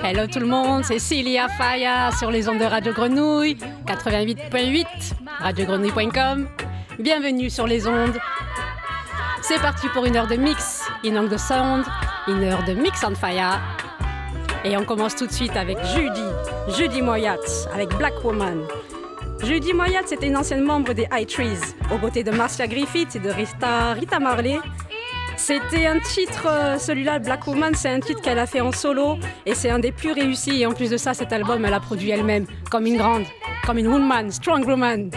Hello tout le monde, c'est Cilia Faya sur les ondes de Radio Grenouille, 88.8, radiogrenouille.com. Bienvenue sur les ondes. C'est parti pour une heure de mix, une heure de sound, une heure de mix on fire. Et on commence tout de suite avec Judy Moyat, avec Black Woman. Judy Moyat, c'était une ancienne membre des High Trees, aux côtés de Marcia Griffith et de Rita Marley. C'était un titre, celui-là, Black Woman, c'est un titre qu'elle a fait en solo et c'est un des plus réussis. Et en plus de ça, cet album, elle a produit elle-même, comme une grande, comme une woman, strong woman.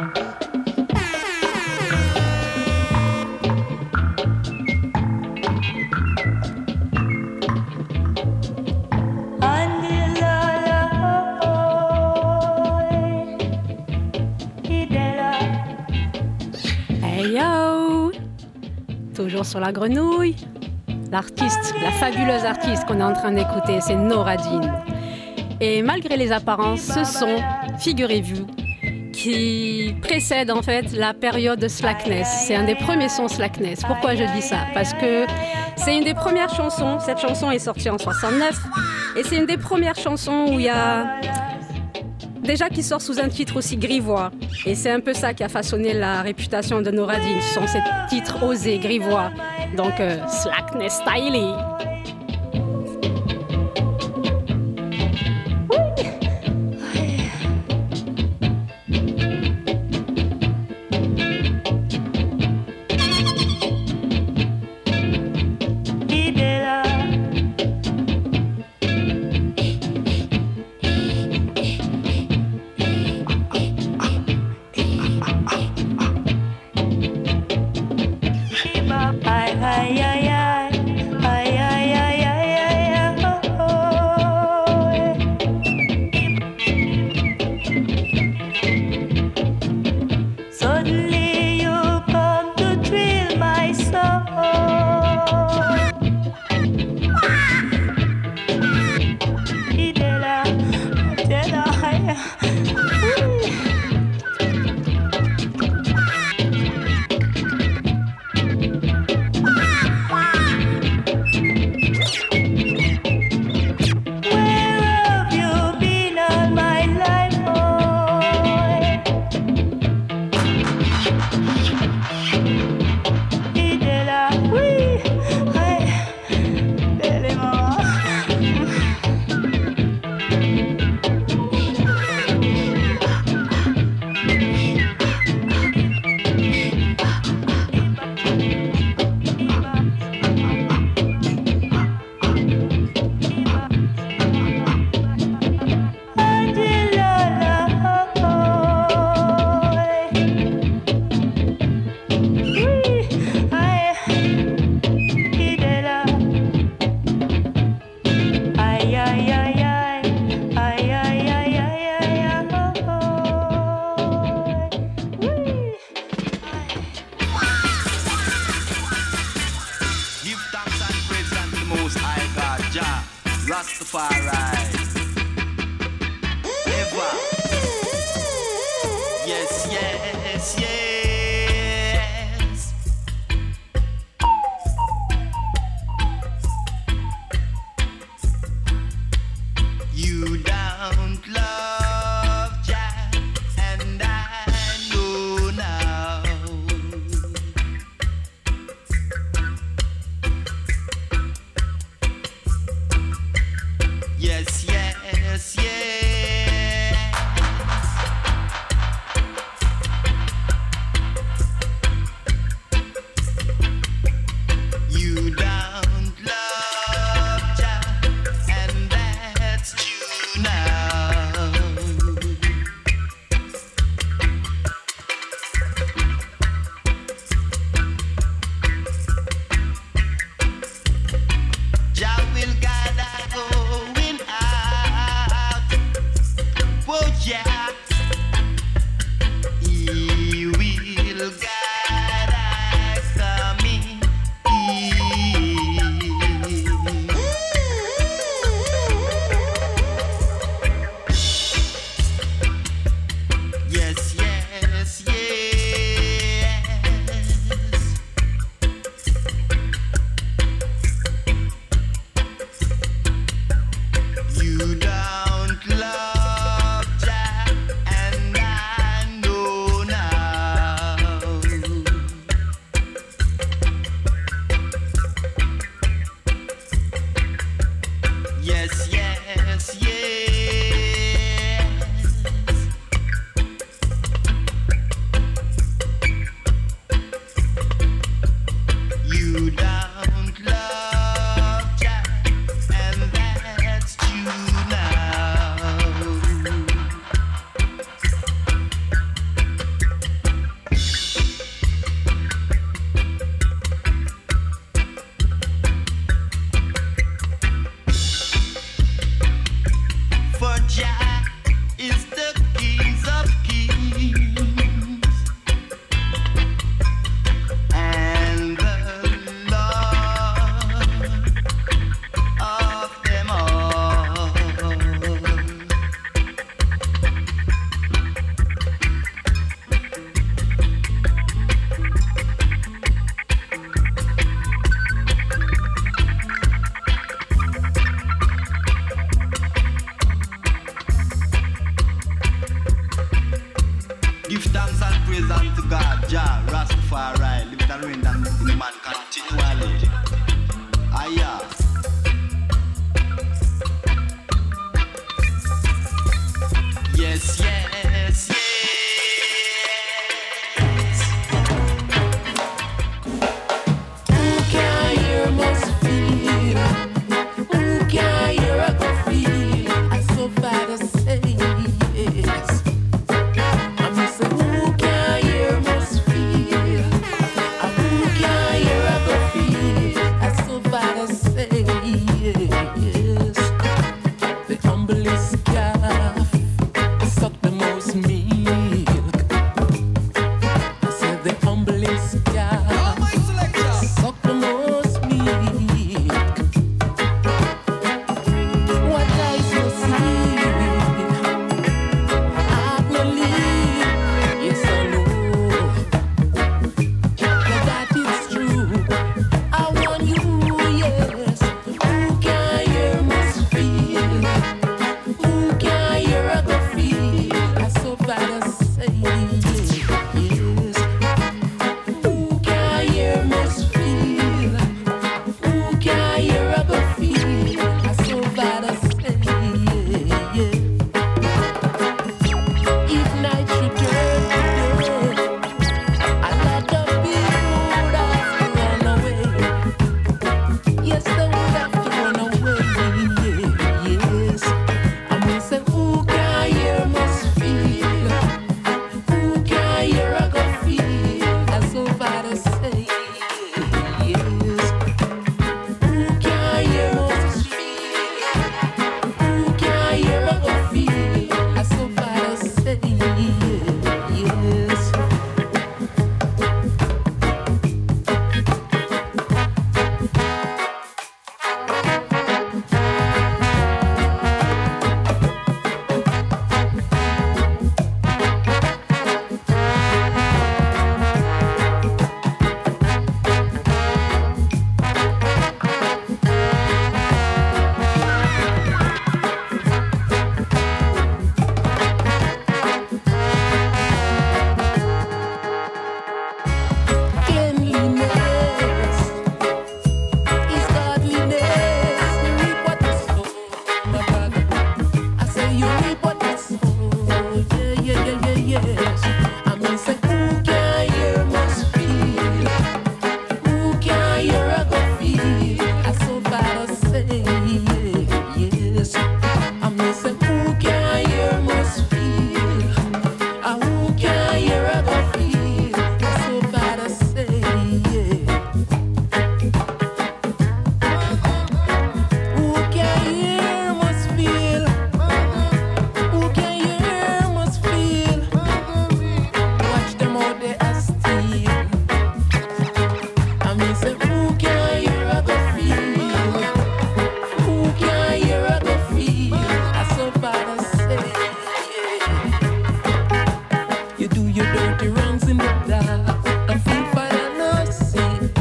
Toujours sur la grenouille, l'artiste, la fabuleuse artiste qu'on est en train d'écouter, c'est Nora Jean. Et malgré les apparences, ce son, figurez-vous, qui précède en fait la période de Slackness. C'est un des premiers sons Slackness. Pourquoi je dis ça? Parce que c'est une des premières chansons, cette chanson est sortie en 69, et c'est une des premières chansons où il y a... Déjà qui sort sous un titre aussi grivois. Et c'est un peu ça qui a façonné la réputation de Nora Jean. Ce sont ces titres osés, grivois. Donc, Slackness Styly. Thanks and praise unto God, Jah, Rastafari, live it and reign and in the man continually. Aya. Yes, yes, yes. Who can hear must feel? Who can hear I go feel? I so bad to say yes. I miss who can hear must feel. Who can hear I go feel? I so bad to say yes. The humblest calf suck the most milk. I said the humblest calf suck the most milk. What I so see, I believe, yes I know that it's true. I want you, yes. Who can hear must feel? Who can hear I go feel? I so bad to say yes. Who can hear must feel? Who can hear I go feel? I so bad to say yes. If night should turn to day, a lot of people would have to run away. Yes, they would have to run away. Yes, I mean say who can hear must feel. Who can hear I go feel? I so bad to say yes. Who can hear must feel? Who can hear I go feel? I so bad to say yes. Cleanliness is godliness. You reap what you sow, my brother. I say you reap what you sow. Yes. I mean say who can hear must feel. Who can hear I go feel? I so bad to say yes. I mean say who can hear must feel. Who can hear I go feel? I so bad to say yeah. Who can hear must feel. Who can hear must feel. Watch them out they are steal. I mean say who can hear I go feel. Who can hear I go feel. I so bad to say yeah. You do your dirty wrongs in the dark and feel fine and not see.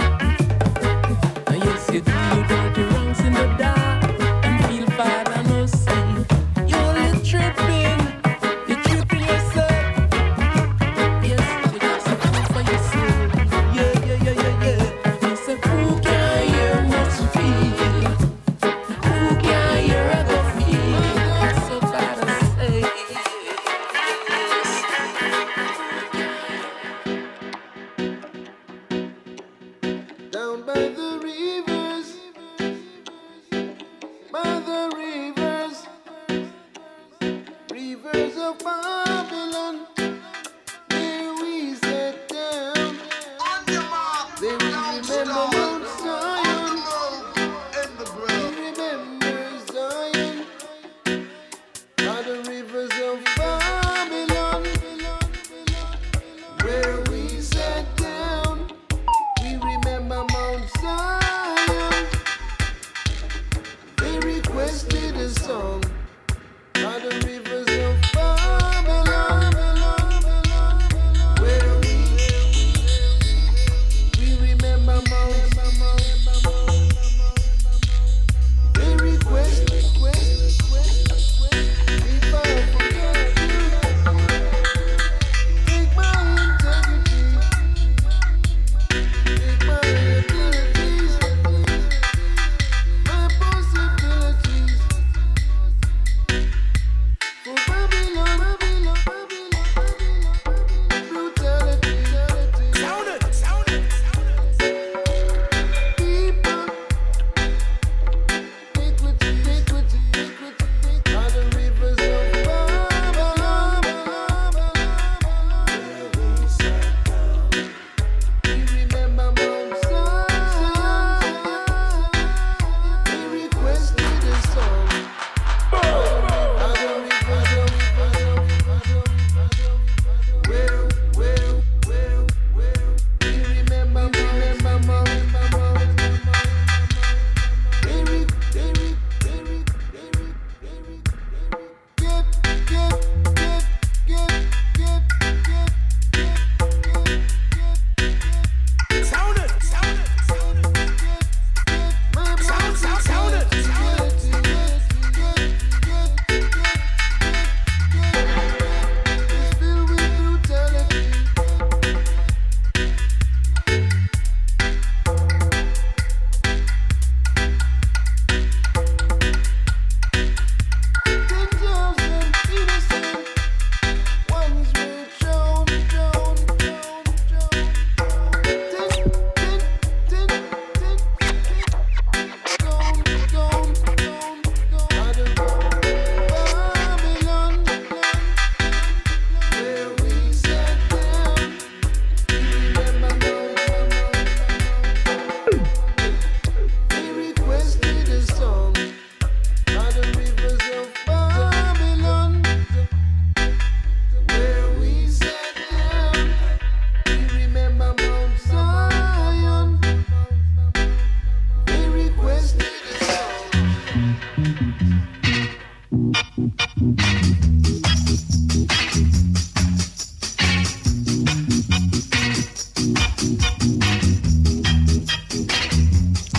Yes, you do your dirty wrongs in the dark and feel fine and not see. You're only tripping, you're tripping yourself. Yes, you just a fool for yourself. Yeah. You say who can hear must feel. Who can hear I go feel. I so bad to say yes.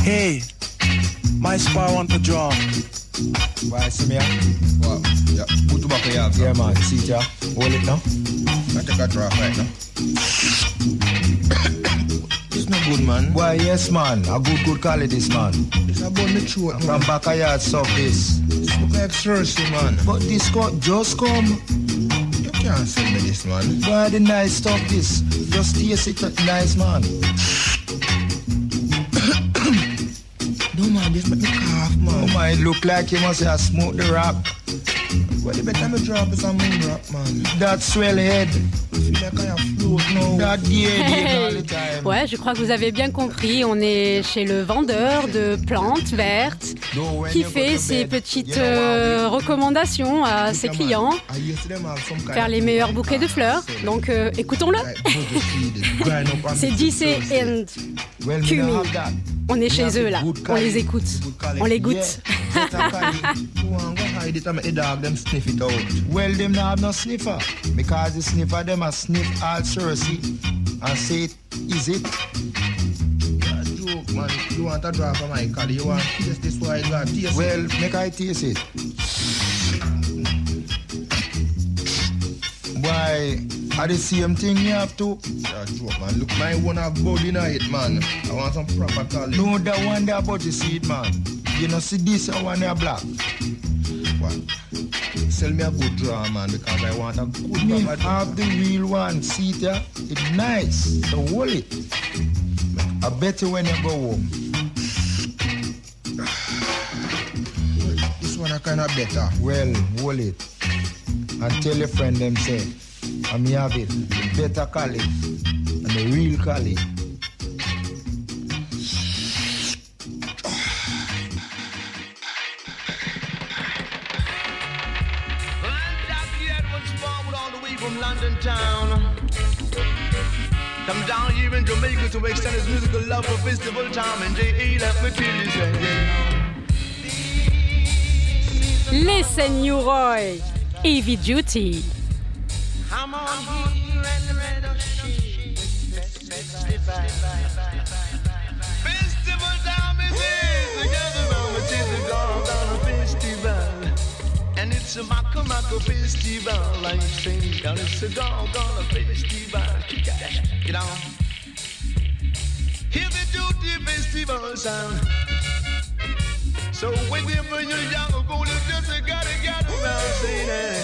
Hey, my spy want to draw. Why, see me? What? Yeah, put tobacco here. Yeah, man. See it, yeah? Hold it now. I take a draw right now. It's not good, man. Why, yes, man. A good quality, this, man. It's about the throat, man. From back of yard, stuff this. It's look like thirsty, man. But this just come. You can't sell me this, man. Why the nice stuff this? Just taste it nice, man. No, man, this make me cough, man. Oh, man, it look like you must have smoked the rock. Well, the better me drop is a moon rock, man. That swell head. I feel like I have float now. That yeah, all the time. Ouais, je crois que vous avez bien compris. On est chez le vendeur de plantes vertes qui fait ses petites recommandations à ses clients. Faire les meilleurs bouquets de fleurs. Donc, écoutons-le. C'est DC and Kumi. On est chez eux là, on les écoute, on les goûte. Well, them not have no sniffer, because the sniffer them a sniff all Cersei and say it, is it? Yeah, joke, man. You want a drop of my collie, you want to taste this why I got taste. Well, make I taste it. Why, are the same thing you have to? Yeah, joke, man. Look, my one have body in it, man. I want some proper collie. No, that one there about the seed, man. You know, see this one there black. What? Sell me a good draw, man, because I want a good Me proper draw. have the real one, see it here? It's nice, so hold it. I bet you when you go home. This one are kind of better. Well, hold it. And tell your friend them say, I'm have it, the better collie and the real collie. From London town, come down here in Jamaica to extend his musical love for festival time, and J.A. let me tell you something. Les Seigneuroy, Heavy Duty. I'm on here and the red festival time is here, together round the children gone down a festival. And it's a Maka festival, like saying, and it's a gonna festival. Get on. Hear the duty festival sound. So whenever you're young, go to just gotta around saying that.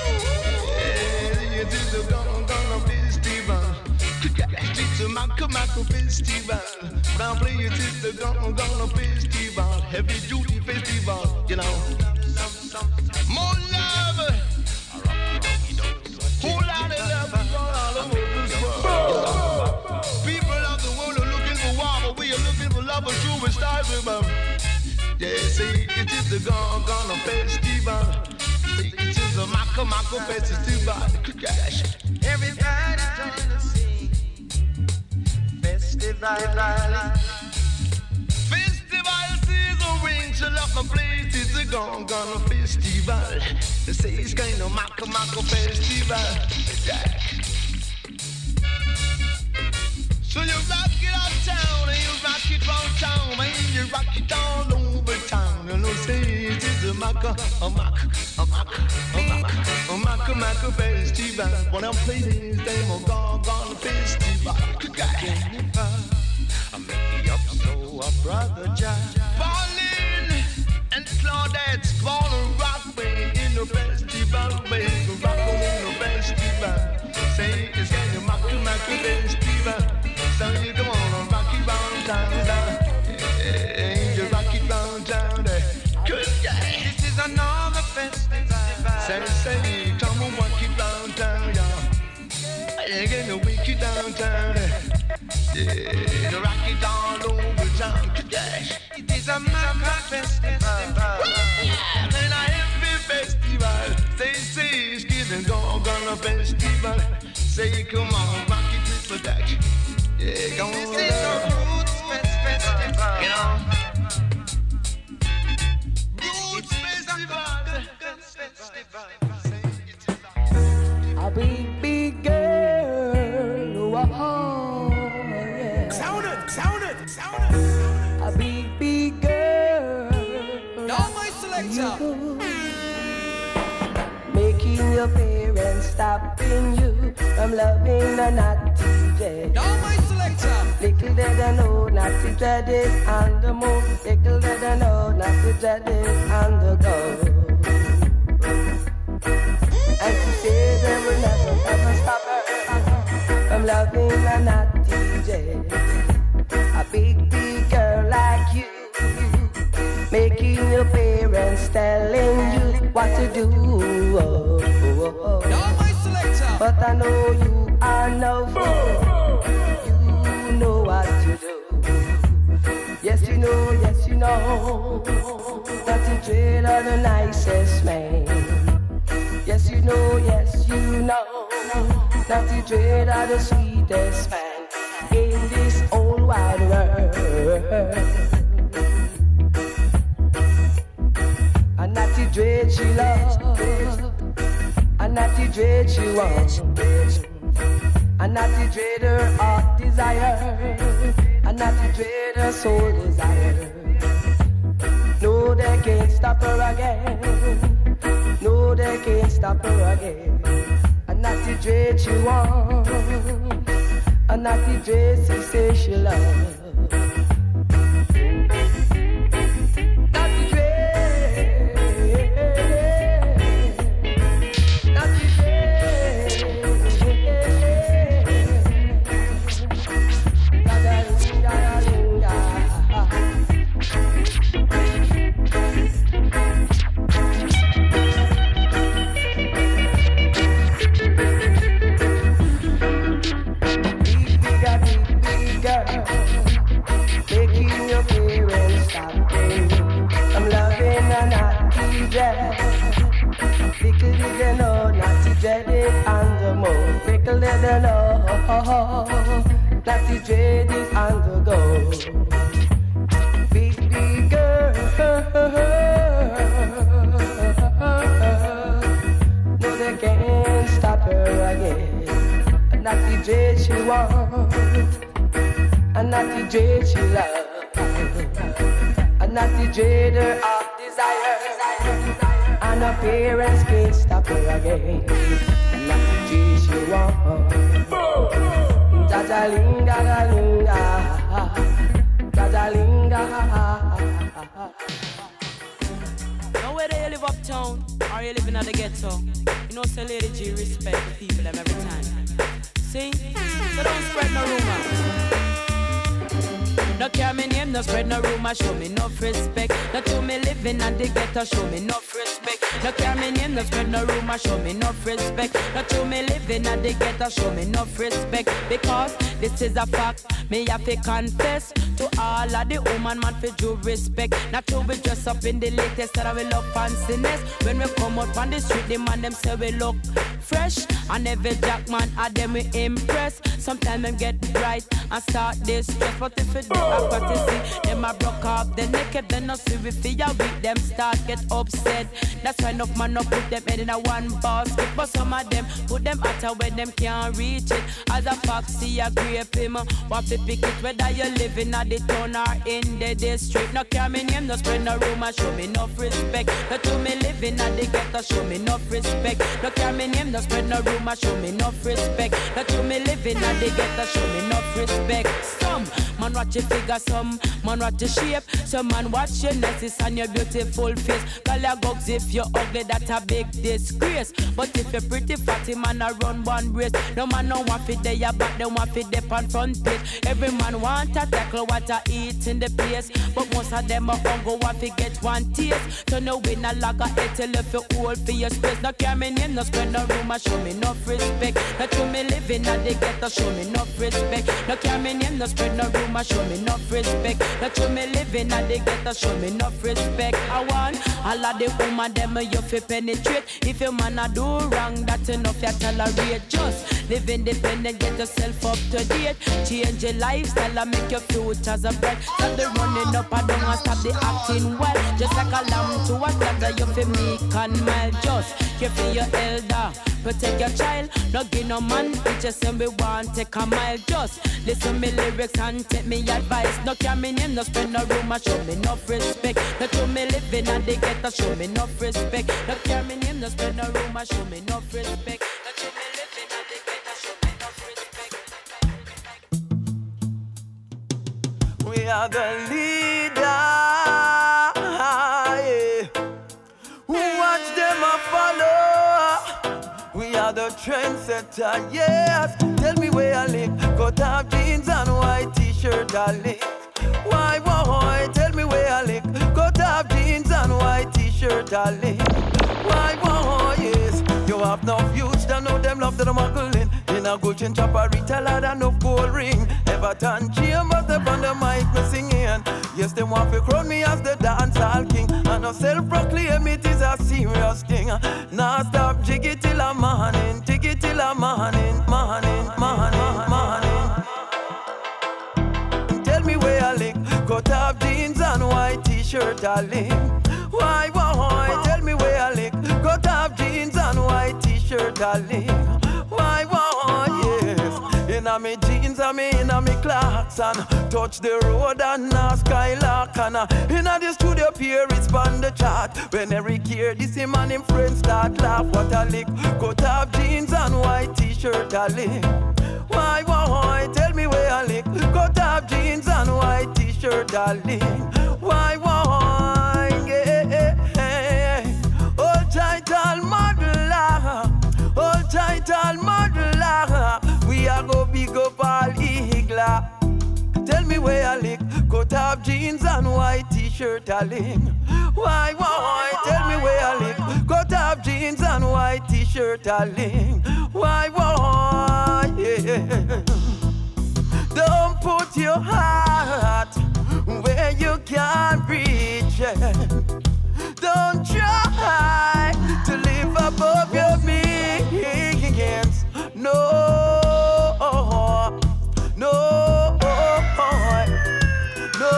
Yeah, it's a gonna festival. It's a Maka festival. Now play it, it's a gonna festival. Heavy duty festival, you know. More love, whole lot of love is all over this world. People of the world are looking for war, but we are looking for love, a true style. Yeah, see, it is the Gonna Festival. See, it is the Maka Festival. Everybody join the scene. Festival. Ring to love my place, it's a gonna festival. They say it's kind of Maka festival. Yeah. So you rock it uptown and you rock it round town, and you rock it all over town. You know, say it is a Maka festival. When I'm playing this game of gonna festival. I make it up so a brother Jack. Pauline and Claudette gonna rock me in the festival, baby. Rock in the festival. Say it's getting Maka festival. So you come on, rock it round town. Yeah, you rock it round town. Good guy. This is another festival. Say, come on, rock it round town, y'all. You get the wicked downtown. Yeah, the rock it all over town. It is a Maka festival. And a happy festival. Say, it's getting gonna festival. Say, come on, rock it with production. Yeah, come on. This is a roots festival. You know? Roots festival. A big girl, oh, yeah. Sound it. A big you. Making your parents stopping you from loving a naughty dread. Now my selector. Little did I know naughty dread is on the move. Little did I know naughty dread is on the go. And she said they will never ever stop her from loving a naughty dread. A big girl like you, making your parents telling you what to do. Now my selector. But I know you are no fool. You know what to do. Yes, you know, yes, you know. Nothing dread of the nicest man. Yes, you know, yes, you know. Nothing dread of the sweetest man in this old wide world. A natty dread she loves, a natty dread she wants, a natty dread her heart desire, a natty dread her soul desire. No, they can't stop her again. No, they can't stop her again. A natty dread she wants, a natty dread she says she loves. Little did I know, naughty dread is on the go. Big girl, no they can't stop her again. A naughty dread she wants, a naughty dread she loves, a naughty dread her heart desire, and her parents can't stop her again. She want Jajalinga, Jajalinga. Now whether you live uptown or you live in the ghetto, you know say Lady G respect the people them every time. See? So don't spread no rumor. No care me name, no spread no rumor, show me no respect. No to me living at the ghetto, show me no respect. No care me name, no spread no rumor, show me no respect. No to me living at the ghetto, show me no respect. Because this is a fact, me have to confess to all of the woman man for due respect. Not to be dressed up in the latest that we love fanciness. When we come out on the street, the man them say we look fresh. And every jack man at them we impress. Sometimes them get bright and start this stress. But if you do I've got to see them a broke up, the naked, then no see we feel weak, them start get upset. That's why enough man no put them head in a one basket. But some of them put them out where them can't reach it. As a foxy a grape him, want to pick it whether you living at the town or in the district. No care me name, no spread no rumor, show me no respect. No to me living at the ghetto, show me no respect. No care me name, no spread no rumor, show me no respect. No to me living at the ghetto, show me no respect. Some man watch your figure, some man watch your shape, some man watch your necklace and your beautiful face. Call your gogs if you're ugly, that's a big disgrace. But if you're pretty fatty, man a run one race. No man no want fit there, your back, they want fit there on front page. Every man want to tackle what I eat in the place, but most of them are hungry, want to get one taste. So no win a log of it till if you hold for your space. No care me name, no spread no rumor, show me no respect. No to me living at the ghetto, show me no respect. No care me name, no spread no rumor, show me no respect. No to me living at the ghetto, show me no respect. I want all of the woman them you fi penetrate. If your man a do wrong, that's enough you tolerate. Just live independent, get yourself up to date. Change your lifestyle and make your futures a bright. Stop the running up and down and stop the acting well. Just like a lamb to a slaughter, you feel meek and mild. Just care for your elder, protect your child. No give no man picture saying we want take a mile. Just listen me lyrics and take me advice. No care me name, no spend no room and show me enough respect. No show me living and they get to show me enough respect. No care me name, no spend no room and show me enough respect. No show me living and they get to show me enough respect. We are the leader. Watch them a follow. We are the trendsetter, yes. Tell me where I live. Cut off jeans and white t-shirt I live. Why, boy? Tell me where I live. Cut off jeans and white t-shirt I live. Why, boy? Yes. You have no youths that know them love that I'm muggling. In a good chin chopper, retail lad and no gold ring. Everton Chambers up on the mic me singing. Yes, them want to crown me as the dancehall king. And no self-proclaim it is a serious thing. Now stop jiggy till a morning, jiggy till a morning, morning, morning, morning. Tell me where I live. Cut off jeans and white t-shirt I live. Why, boy? Tell me where I live. Cut off jeans and white t-shirt I live. Why, boy? Yes. Inna me jeans and me inna me clocks and touch the road and skylark and inna the studio peer it's on the chart. When Eric hear this him and him friends start laugh. What a lick. Cut off jeans and white t-shirt I live. Why, boy? Tell me where I live. Cut off jeans and white t-shirt I live. Why, boy? Hold tight, all muddler. Hold tight, all muddler. We are go big up all eagler. Tell me where I live. Cut off jeans and white t-shirt I live. Why, boy? Tell me where I live. Cut off jeans and white t-shirt I live. Why, boy? Yeah. Don't put your heart where you can't reach it. Don't try to live above your means. No, no, no.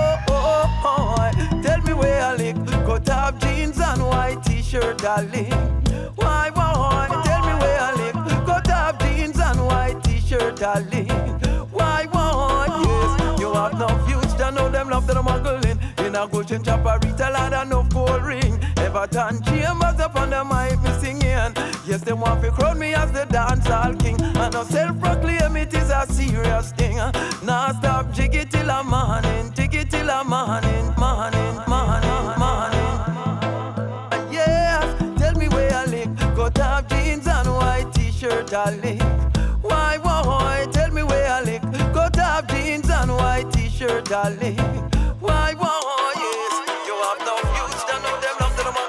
Tell me where I live. Cut off jeans and white t-shirt I live. Why, boy? Tell me where I live. Cut off jeans and white t-shirt I live. Why, boy? Yes, you have no youths that know them love that I'm muggling. In a good chin chopper, retail and no gold ring. Everton Chambers up on the mic me singing. Yes, they want to crown me as the dancehall king. And no self-proclaim it is a serious thing. Now stop jiggy till a morning, jiggy till a morning, morning, morning, morning. Yes, tell me where I live. Cut off jeans and white t-shirt I live. Why, boy? Tell me where I live. Cut off jeans and white t-shirt I live. Why, boy? Yes, you have no youths that know them love that I'm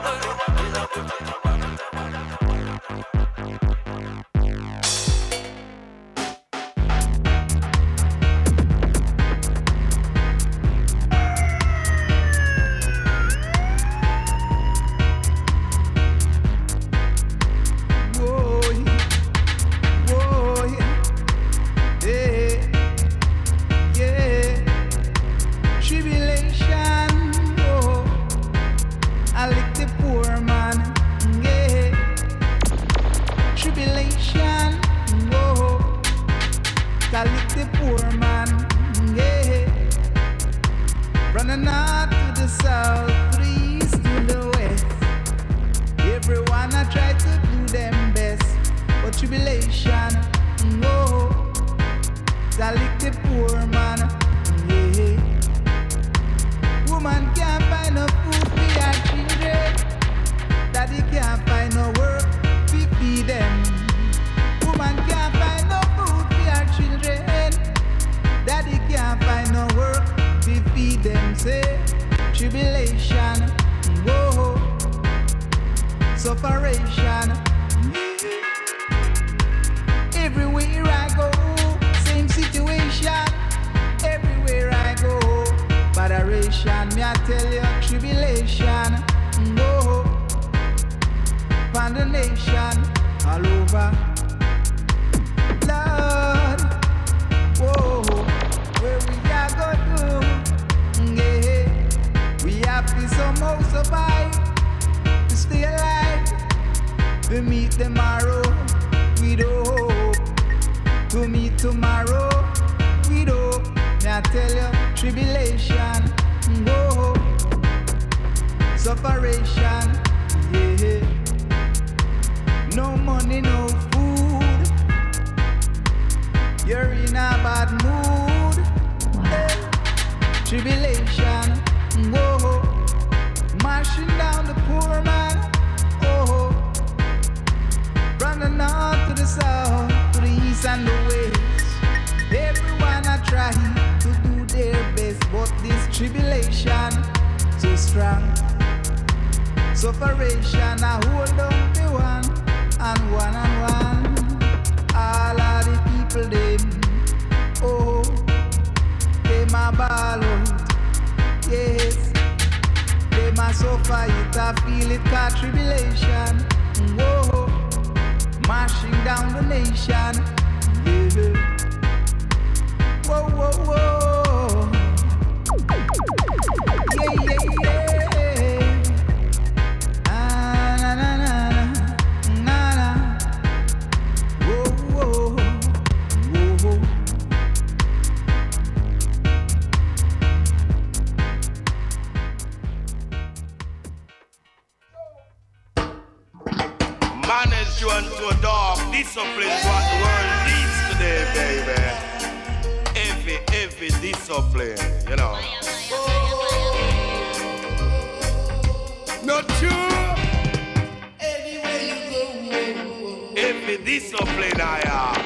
tomorrow with hope. May I tell you, tribulation, whoa, sufferation, yeah. No money, no food. You're in a bad mood. Hey. Tribulation, whoa, marching down the poor man. Oh, from the north to the south, to the east and the west. Everyone are trying to do their best, but this tribulation too strong. Sufferation, I hold on the one. All of the people them, oh, they my ball out, yes. They my suffer it, I feel it, cause tribulation, whoa, marching down the nation, yeah. Whoa, whoa, whoa, yeah, yeah, yeah. To a dog, discipline is what the world needs today, baby. Every discipline, you know. Not true. Every discipline I am.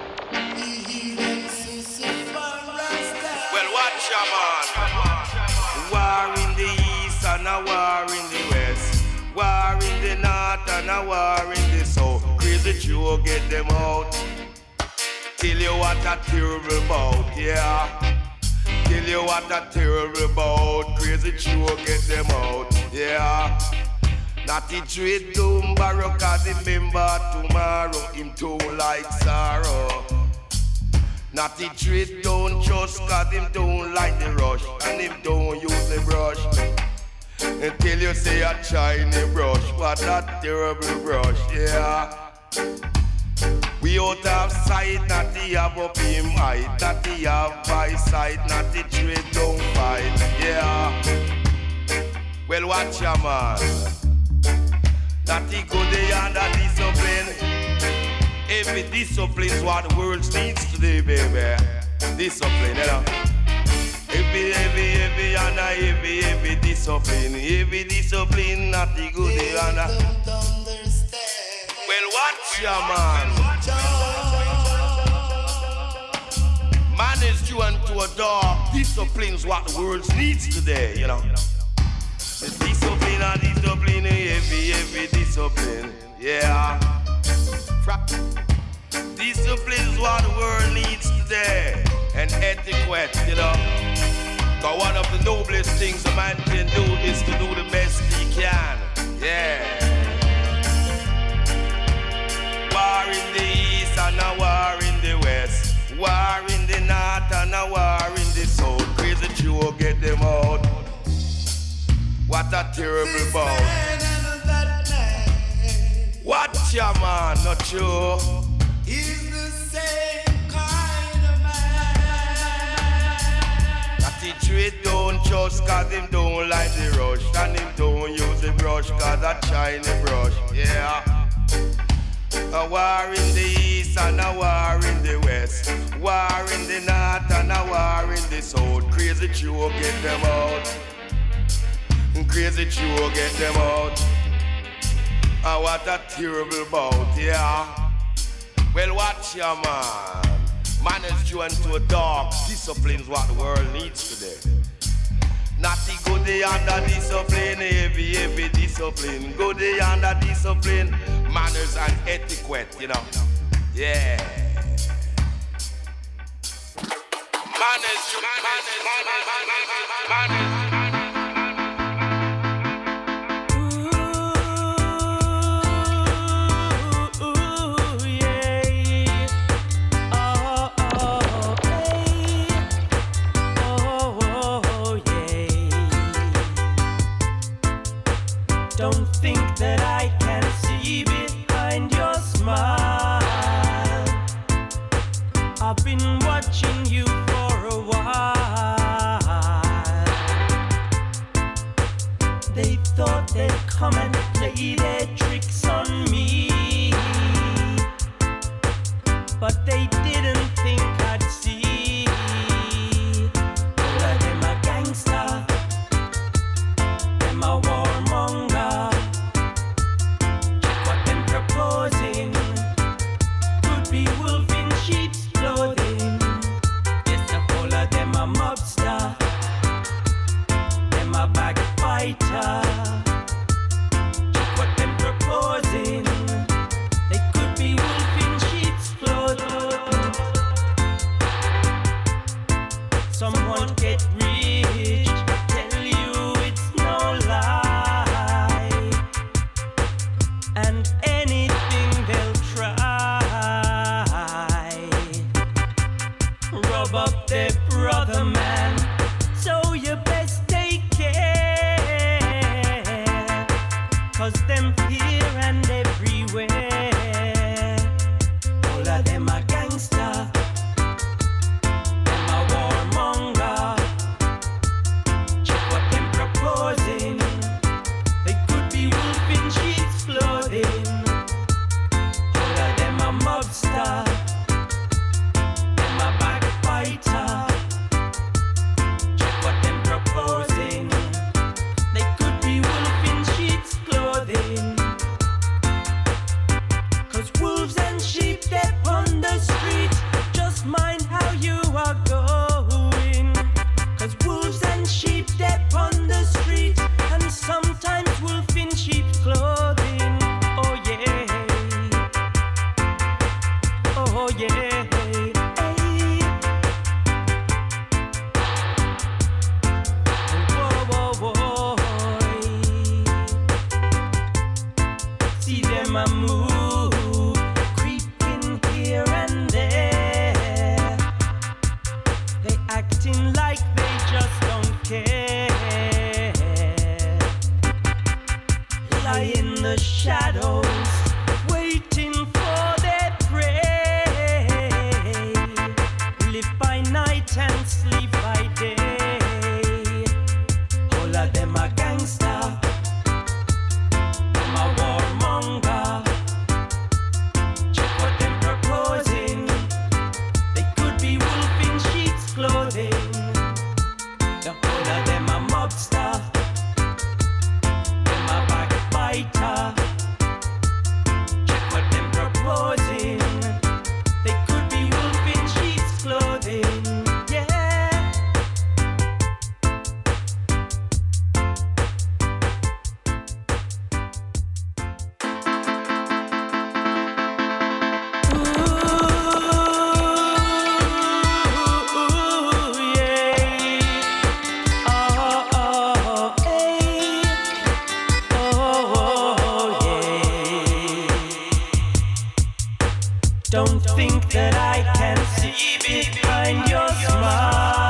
Well, watch your man. War in the east and a war in the west. War in the north and a war in the south. Crazy Jew get them out. Tell you what a terrible bout, yeah. Tell you what a terrible bout. Crazy Jew get them out, yeah. Not the trade doom borrow, cause remember tomorrow him too like sorrow. Not the trade don't trust, cause him don't like the rush, and him don't use the brush. Until you say a shiny brush, what a terrible brush, yeah. We out of sight, not the have up him height, not the have by sight, not the trade don't fight, yeah. Well, watch your man. Not the good and the discipline. Every discipline's what the world needs today, baby. Discipline, you know. Every and every discipline. Every discipline, not the good and the. Well, watch your man. Man is due unto a dog. Discipline's what the world needs today, you know. Discipline and discipline, every discipline, yeah. Discipline is what the world needs today, and etiquette, you know. Cause one of the noblest things a man can do is to do the best he can, yeah. War in the east and a war in the west. War in the north and a war in the south. Crazy Jew get them out. What a terrible bout. Watch your man, not you. He's the same kind of man. That the trade don't trust, cause him don't like the rush. And him don't use the brush, cause a shiny brush, yeah. A war in the east and a war in the west. War in the north and a war in the south. Crazy Jew get them out. Crazy Jew get them out. And what a terrible bout, yeah. Well, watch your man. Man is due unto a dog. Discipline's what the world needs today. Not the good and the discipline, every discipline. Good and the discipline, manners and etiquette, you know. Yeah. Manners. Don't think that I can see behind your smile. I've been watching you for a while. They thought they'd come and play their tricks on me, but they didn't think I'd see. All of them a gangster, them a warmonger. Check what them proposing. Could be wolf in sheep's clothing. Yes, the whole of them a mobster, them a backbiter. Check what them proposing. They could be wolf in sheep's clothing. Someone get rich, tell you it's no lie, and anything they'll try. Rub up their brother, man, so you best take care, 'cause them here and everywhere. All of them are gangster, them a warmonger. Check what them proposing. They could be wolf in sheep's clothing. All of them a mobster, them a backbiter. Check what them proposing. They could be wolf in sheep's clothing. 'Cause wolves and sheep, they're on the street. Just mind how you are going. 'Cause wolves and sheep, they're on the street. And sometimes wolf in sheep's clothing. Oh yeah. Oh yeah. Hey. Whoa, whoa, whoa. See them a move, creeping here and there. They acting like they just don't care. Lie in the shadows, waiting for their prey. Live by night and sleep by day. All of them are gangster, them a warmonger. Check what them proposing. They could be wolf in sheep's clothing. The whole of them a mobster, them a backbiter. Check what them proposing. They could be wolf in sheep's clothing. Yeah. Ooh, yeah. Oh, oh, hey. Oh, yeah. Don't think that I can see behind your smile.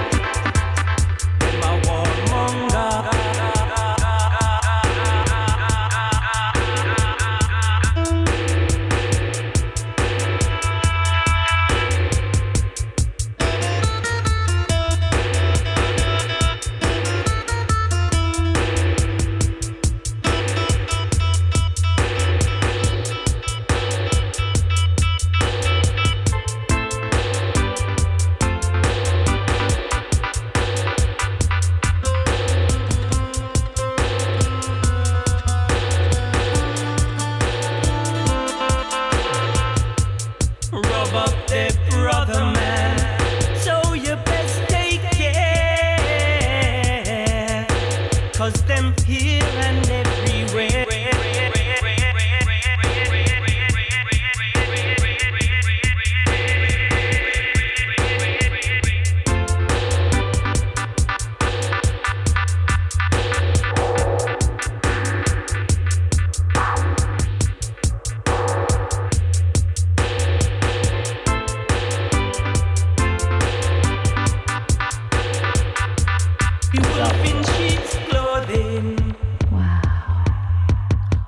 Them a warmonger.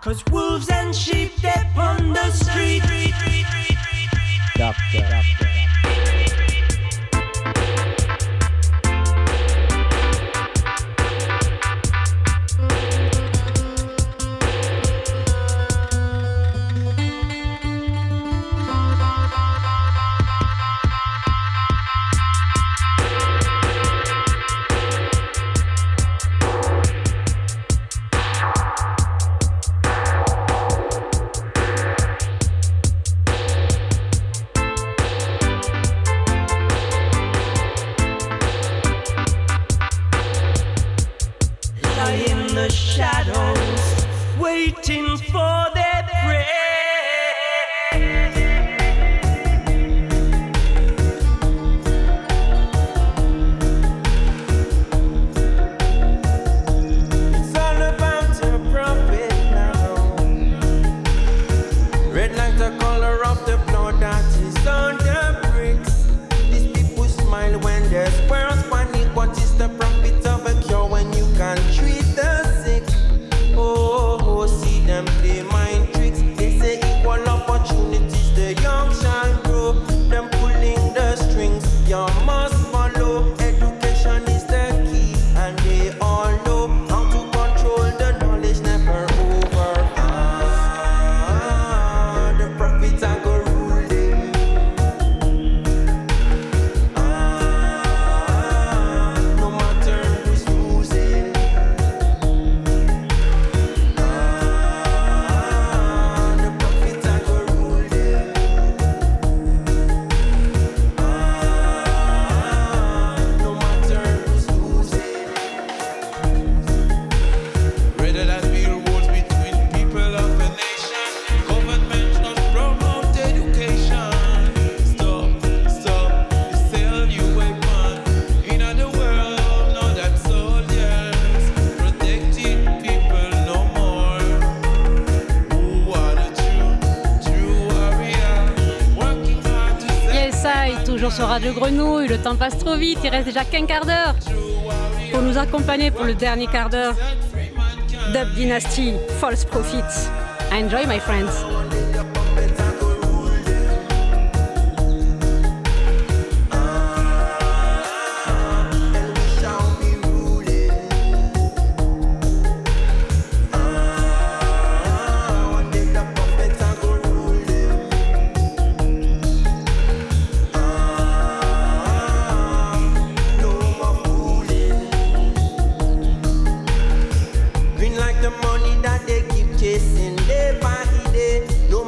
'cause wolves and sheep they on the street. Doctor. Waiting for their prey. It's all about your profit now. Red like the color of the blood that is on the bricks. These people smile when there's world's panic. What is the profit of a cure when you can't treat the sick? Oh, see them play mind tricks. They say equal opportunities, the young shall grow. Them pulling the strings, you must follow. Education is the key, and they all know how to control the knowledge, never over. The prophets are go ruling. No matter who's losing. Rather than build walls between people of a nation, government must promote education. Stop, they sell you weapon. In the world, now that soldiers protecting people no more. Who are the true warriors, working hard to save. Yes, I, toujours sur Radio Grenouille, le temps passe trop vite, il reste déjà qu'un quart d'heure. Pour nous accompagner pour le dernier quart d'heure, Dub Dynasty, False Prophets. Enjoy, my friends. Green like the money that they keep chasing day by day. No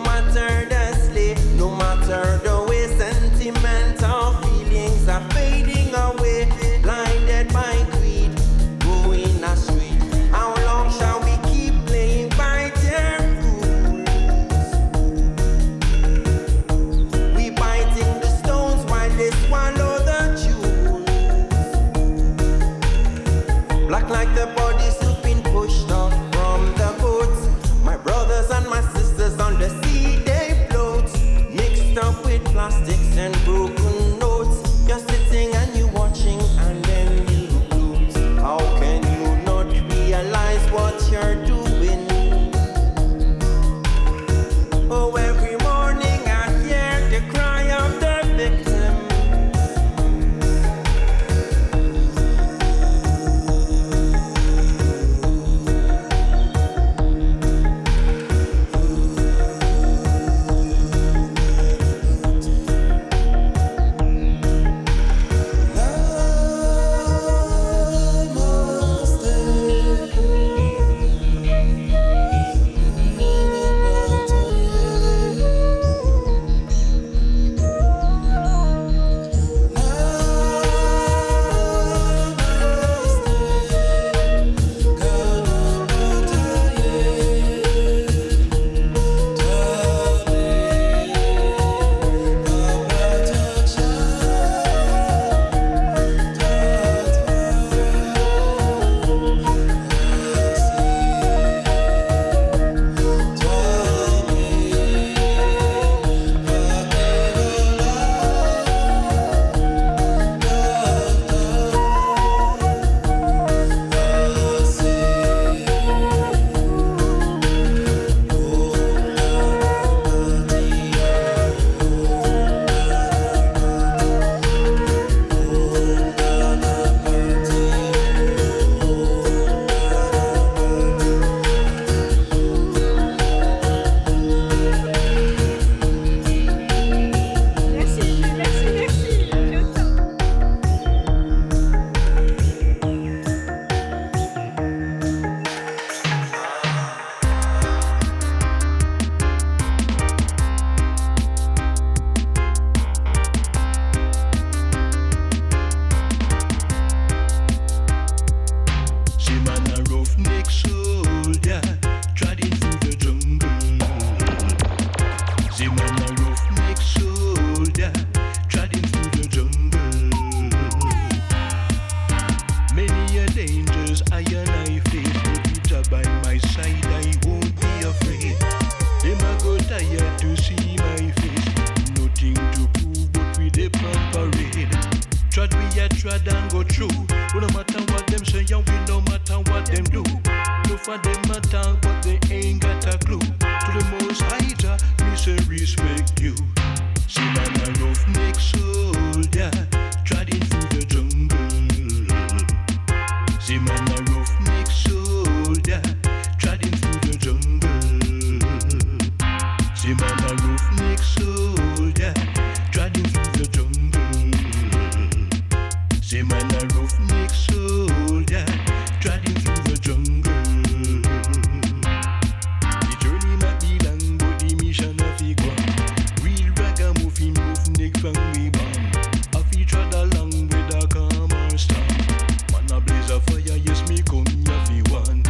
Well, no matter what them say, and we no matter what them do. No for them matter, but they ain't got a clue. To the most high, Jah, me say respect you. See man a roughneck soldier, trotting through the jungle. See man a roughneck soldier, trotting through the jungle. See man a roughneck soldier, trotting through the jungle. See man a roughneck soldier, trotting through the jungle. The journey might be long, but the mission a fi go. Real ragamuffin roughneck from we born. A fi trod along with a calm or storm. Man a blaze a fire, yes me come ya fi one.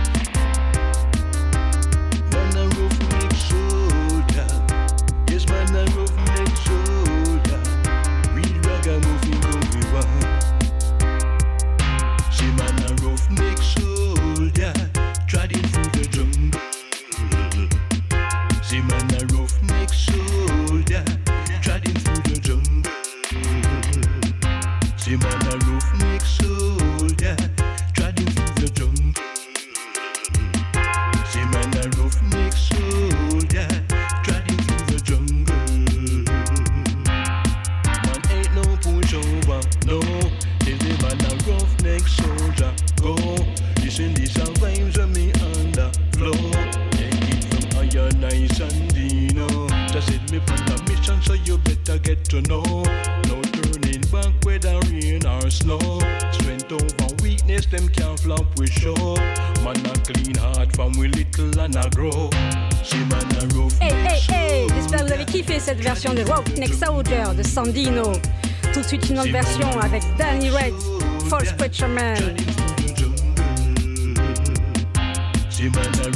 Man a roughneck soldier, yes man a roughneck soldier. Real ragamuffin come we one. See man a roughneck soldier, trotting through the jungle. See man a roughneck soldier, trotting through the jungle. See man a roughneck soldier, trotting through the jungle. See man a roughneck soldier, trotting through the jungle. Man ain't no pushover, no. Tell the man a roughneck soldier, go. Listen these are vibes of me underflow. Take it from iron, nice and Dino. Just set me on a mission, so you better get to know. No turning back whether rain or snow. Strength over weakness, them can't flop with show. Man a clean heart from we little and a grow. See man a roughneck Hey, j'espère que vous avez kiffé cette version de Roughneck Soldier de Sandino. Tout de suite une autre version avec Danny Red, False Preacher Man. See man a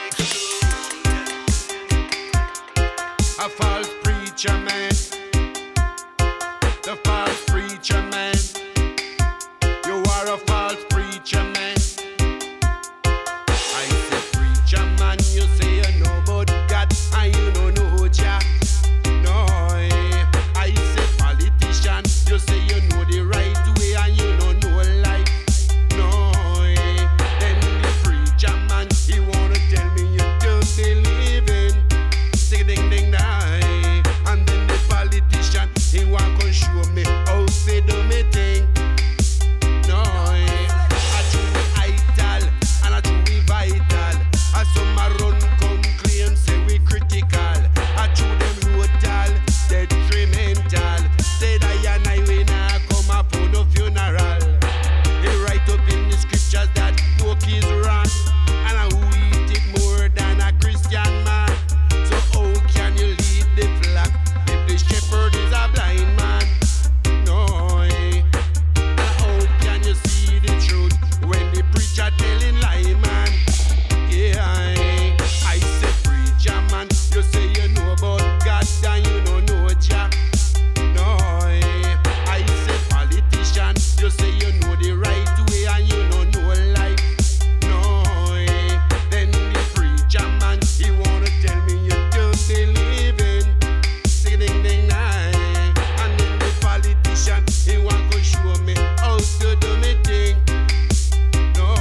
A false preacher man, the false preacher man. You are a false preacher man. I say preacher man, you say you know about God and you don't know Jah. No, I say politician, you say you know the right way and you don't know life. No, then the preacher man, he wanna tell me you don't believe in. Say ding ding die, and then the politician, he want to show me how say do me thing. No, I truly vital, and I truly vital. I some a run come claim say we critical. I true them total, detrimental. Said I we nah come up for no funeral. He write up in the scriptures that pork is wrong, and I who eat it more than a Christian man. So how can you lead the flock if the shepherd is a blind man? No, how can you see the truth when the preacher telling lie, man? Yeah, I say preacher man, you say you know about God and you don't know Jah. No, I say politician, you say you know the right way and you don't know life. No, then the preacher man, he wanna tell me you don't believe in. Say ding ding nine, and then the politician, he want to show me how to do me thing. No,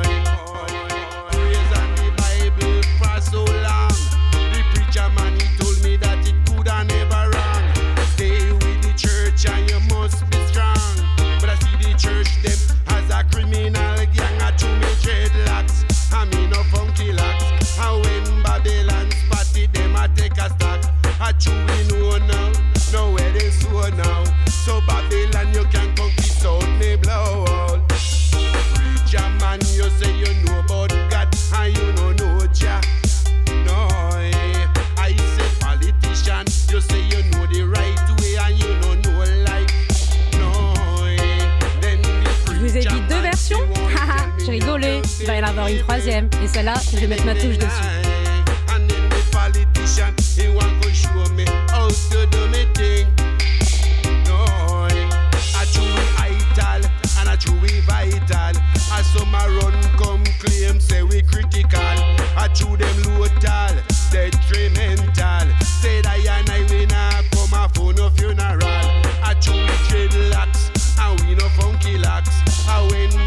praise and the Bible for so long. The preacher man, he told me that it could and never wrong. Stay with the church and you must be strong. But I see the church them as a criminal gang. I chew me dreadlocks, I mean no funky locks. And when Babylon spot it, them a take a stock. I chew we know now, know where they so now. So Babylon you can come kiss out me blow out. Preacher man, you say you know about God and you don't know Jah. No, I say politician, you say you know the right way and you don't know life. No, then the Je vous ai dit deux versions. Haha, j'ai rigolé. Il va y en avoir une troisième. Et celle-là, je vais mettre ma touche dessus. And then the politician, he want to show me how to do me thing. No, I truly vital, and I truly vital. I some a run come claim say we critical. I chew them total, detrimental. Said I we nah come a for no funeral. I chew we dreadlocks and we no funky locks. I when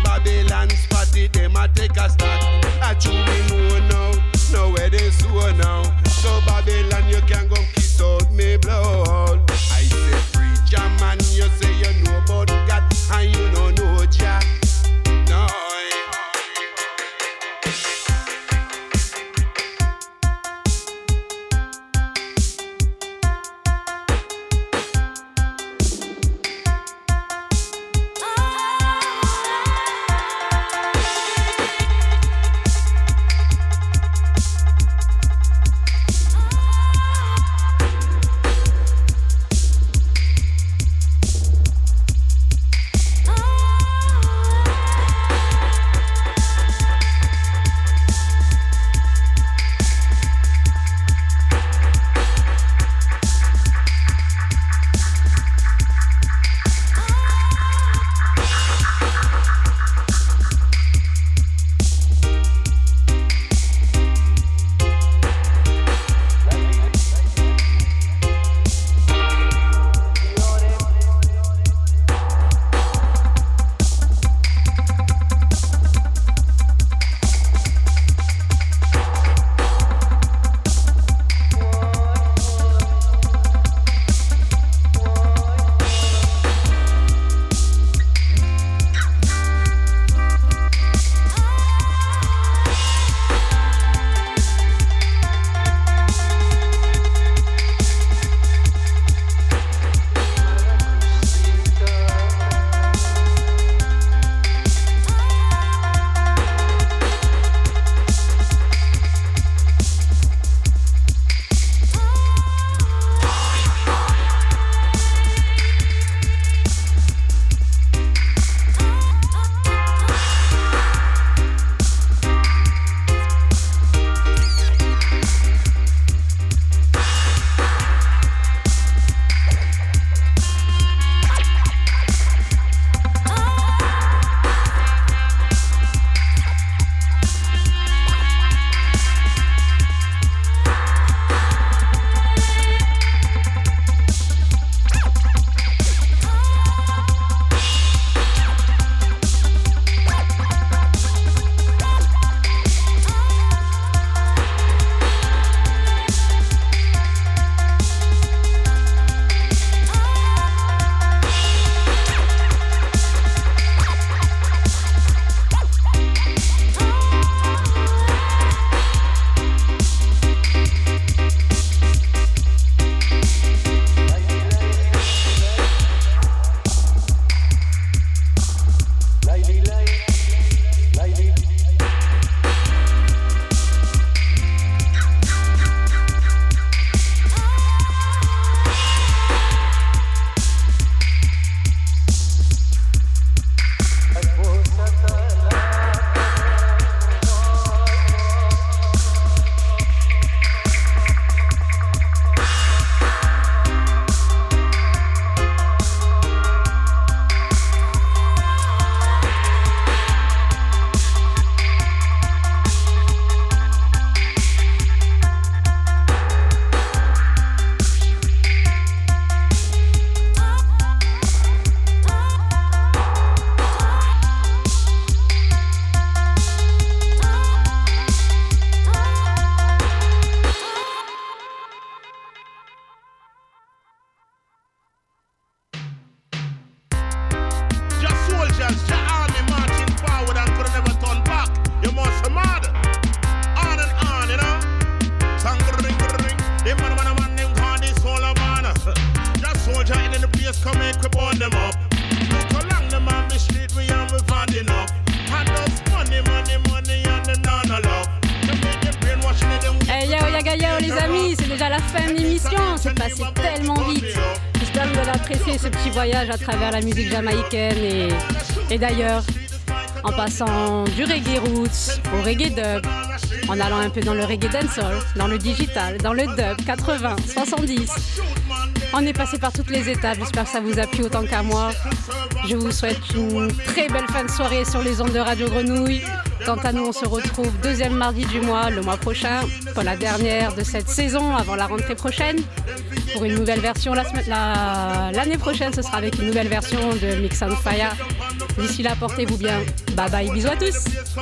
les amis, c'est déjà la fin de l'émission, c'est passé tellement vite. J'espère que vous allez apprécier ce petit voyage à travers la musique jamaïcaine et d'ailleurs, en passant du reggae roots au reggae dub, en allant un peu dans le reggae dancehall, dans le digital, dans le dub 80, 70. On est passé par toutes les étapes, j'espère que ça vous a plu autant qu'à moi. Je vous souhaite une très belle fin de soirée sur les ondes de Radio Grenouille. Quant à nous, on se retrouve deuxième mardi du mois, le mois prochain, pour la dernière de cette saison, avant la rentrée prochaine. Pour une nouvelle version, l'année prochaine, ce sera avec une nouvelle version de Mix on Fire. D'ici là, portez-vous bien. Bye bye, bisous à tous.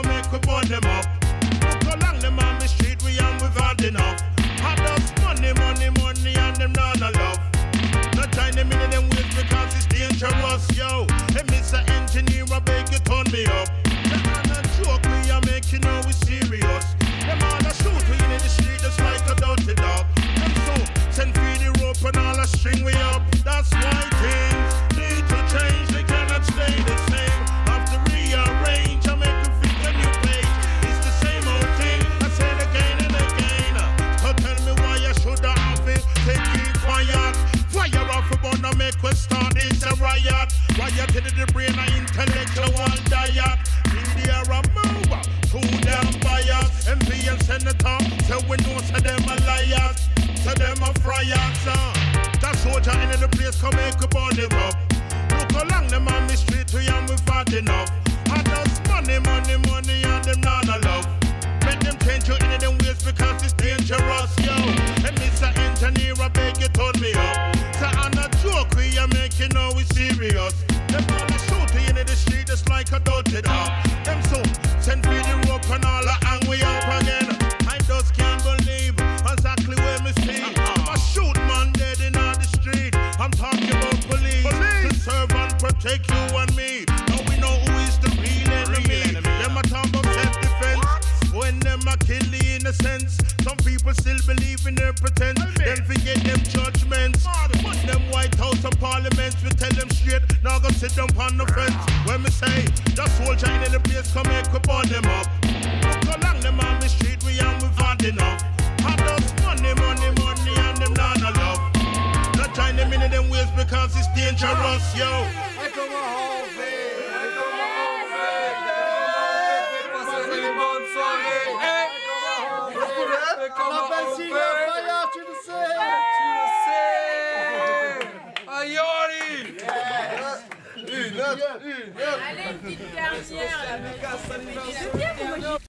Yo, hey, Mr. Engineer, I beg you turn me up. You're not joke, we are making know we serious. Them all a shoot we in the street just like a dirty dog. Them so send free the rope and all a string we up. That's why things need to change. They cannot stay the same. Have to rearrange and make you fit a new page. It's the same old thing. I say it again and again. So tell me why I should have it. Take it quiet. Fire off a bun and make we start this a riot. Riot to the brain and intellectual diet. Media a move, too damn biased. MP and senator, so we know so them a liars. So them a friars. That soldier in the place come make a burn him up. Look along them on the street we and we fat enough. And us money, money, money and them not a love. Make them change you in them ways because it's dangerous, yo. And Mr. Engineer, I beg you turn me up. So I'm not joke, we are making know we serious. Them all a shoot in the street just like a dirty dog. Them so send me the rope and all the hang we up again. I just can't believe exactly where me see. I'm a shoot man dead in on the street. I'm talking about police. To serve and protect you and me. Now we know who is the real enemy. Them a talk about self-defense. When them a kill the innocents. Some people still believe in their pretense. Then forget them judgments. Them White House and Parliaments, we tell them straight. Now go sit down on the fence. When me say, the soldier in the place come make we burn them up. Look along them on the street, we and we hard enough. And us money, money, money and them not a love. Not join them in them ways because it's dangerous, yo. On appelle Sylvain Fayard, tu le sais. Ayoli. Une. Allez, petite dernière.